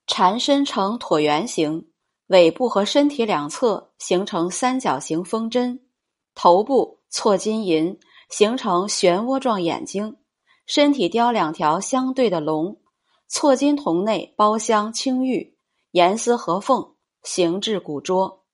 蝉身呈椭圆形，尾部和身体两侧形成三角形锋针，头部错金银，形成漩涡状眼睛，身体雕两条相对的龙，错金瞳内包镶青玉，严丝合缝，形制古拙。